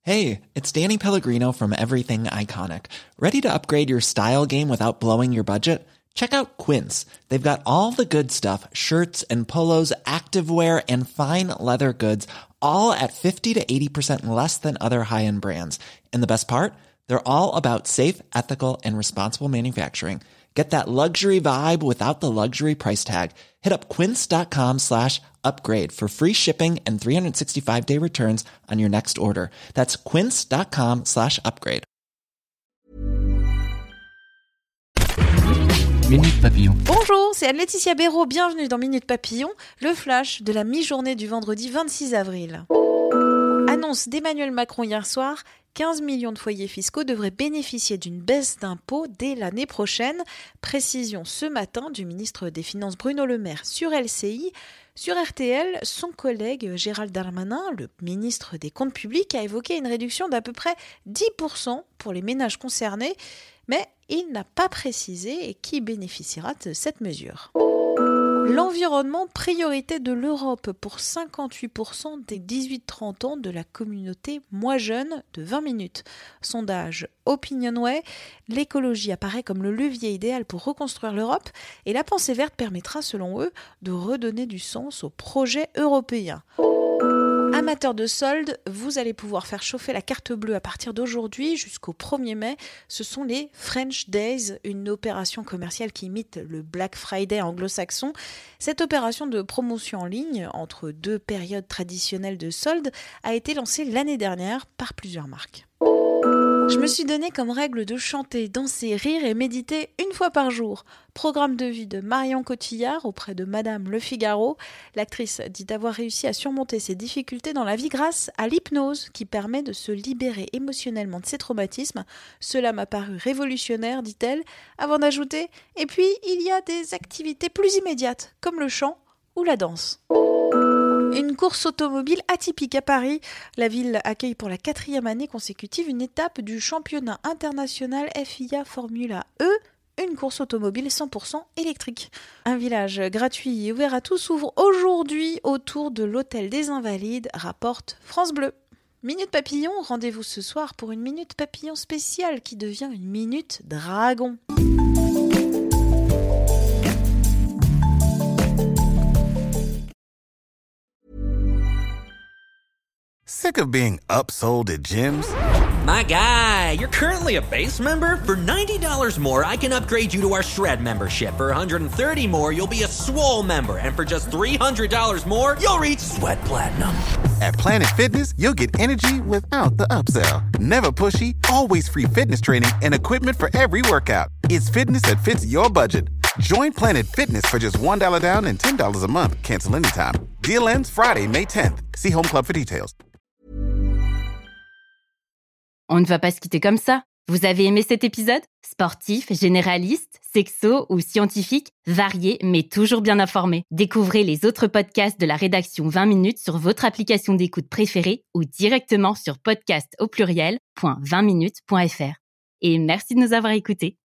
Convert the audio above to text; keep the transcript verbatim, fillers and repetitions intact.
Hey, it's Danny Pellegrino from Everything Iconic. Ready to upgrade your style game without blowing your budget? Check out Quince. They've got all the good stuff, shirts and polos, activewear, and fine leather goods, all at fifty to eighty percent less than other high-end brands. And the best part? They're all about safe, ethical, and responsible manufacturing. Get that luxury vibe without the luxury price tag. Hit up quince.com slash upgrade for free shipping and three sixty-five day returns on your next order. That's quince.com slash upgrade. Minute Papillon. Bonjour, c'est Anne-Laetitia Béraud. Bienvenue dans Minute Papillon, le flash de la mi-journée du vendredi vingt-six avril. Annonce d'Emmanuel Macron hier soir, quinze millions de foyers fiscaux devraient bénéficier d'une baisse d'impôts dès l'année prochaine. Précision ce matin du ministre des Finances Bruno Le Maire sur L C I. Sur R T L, son collègue Gérald Darmanin, le ministre des Comptes publics, a évoqué une réduction d'à peu près dix pour cent pour les ménages concernés, mais il n'a pas précisé qui bénéficiera de cette mesure. L'environnement, priorité de l'Europe pour cinquante-huit pour cent des dix-huit trente ans de la communauté Moi Jeune de vingt minutes. Sondage Opinionway, l'écologie apparaît comme le levier idéal pour reconstruire l'Europe et la pensée verte permettra selon eux de redonner du sens au projet européen. Amateurs de soldes, vous allez pouvoir faire chauffer la carte bleue à partir d'aujourd'hui jusqu'au premier mai. Ce sont les French Days, une opération commerciale qui imite le Black Friday anglo-saxon. Cette opération de promotion en ligne, entre deux périodes traditionnelles de soldes, a été lancée l'année dernière par plusieurs marques. Je me suis donné comme règle de chanter, danser, rire et méditer une fois par jour. Programme de vie de Marion Cotillard auprès de Madame Le Figaro. L'actrice dit avoir réussi à surmonter ses difficultés dans la vie grâce à l'hypnose qui permet de se libérer émotionnellement de ses traumatismes. Cela m'a paru révolutionnaire, dit-elle, avant d'ajouter « Et puis, il y a des activités plus immédiates, comme le chant ou la danse ». Une course automobile atypique à Paris. La ville accueille pour la quatrième année consécutive une étape du championnat international F I A Formula E, une course automobile cent pour cent électrique. Un village gratuit et ouvert à tous s'ouvre aujourd'hui autour de l'hôtel des Invalides, rapporte France Bleu. Minute Papillon, rendez-vous ce soir pour une Minute Papillon spéciale qui devient une Minute Dragon. Sick of being upsold at gyms? My guy, you're currently a base member? For ninety dollars more, I can upgrade you to our Shred membership. For one hundred thirty dollars more, you'll be a Swole member. And for just three hundred dollars more, you'll reach Sweat Platinum. At Planet Fitness, you'll get energy without the upsell. Never pushy, always free fitness training and equipment for every workout. It's fitness that fits your budget. Join Planet Fitness for just one dollar down and ten dollars a month. Cancel anytime. Deal ends Friday, May tenth. See Home Club for details. On ne va pas se quitter comme ça. Vous avez aimé cet épisode ? Sportif, généraliste, sexo ou scientifique, varié mais toujours bien informé. Découvrez les autres podcasts de la rédaction vingt minutes sur votre application d'écoute préférée ou directement sur podcast au pluriel point vingt minutes point f r. Et merci de nous avoir écoutés.